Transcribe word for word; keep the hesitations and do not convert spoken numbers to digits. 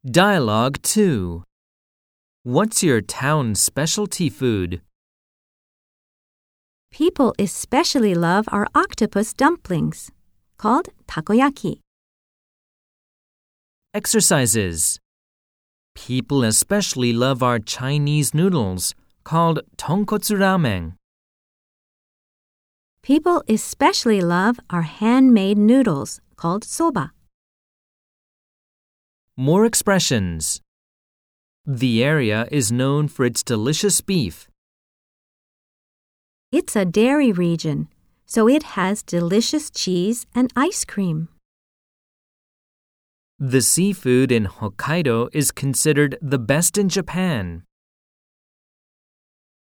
Dialogue two. What's your town specialty food? People especially love our octopus dumplings, called takoyaki. Exercises. People especially love our Chinese noodles, called tonkotsu ramen. People especially love our handmade noodles, called soba. More expressions. The area is known for its delicious beef. It's a dairy region, so it has delicious cheese and ice cream. The seafood in Hokkaido is considered the best in Japan.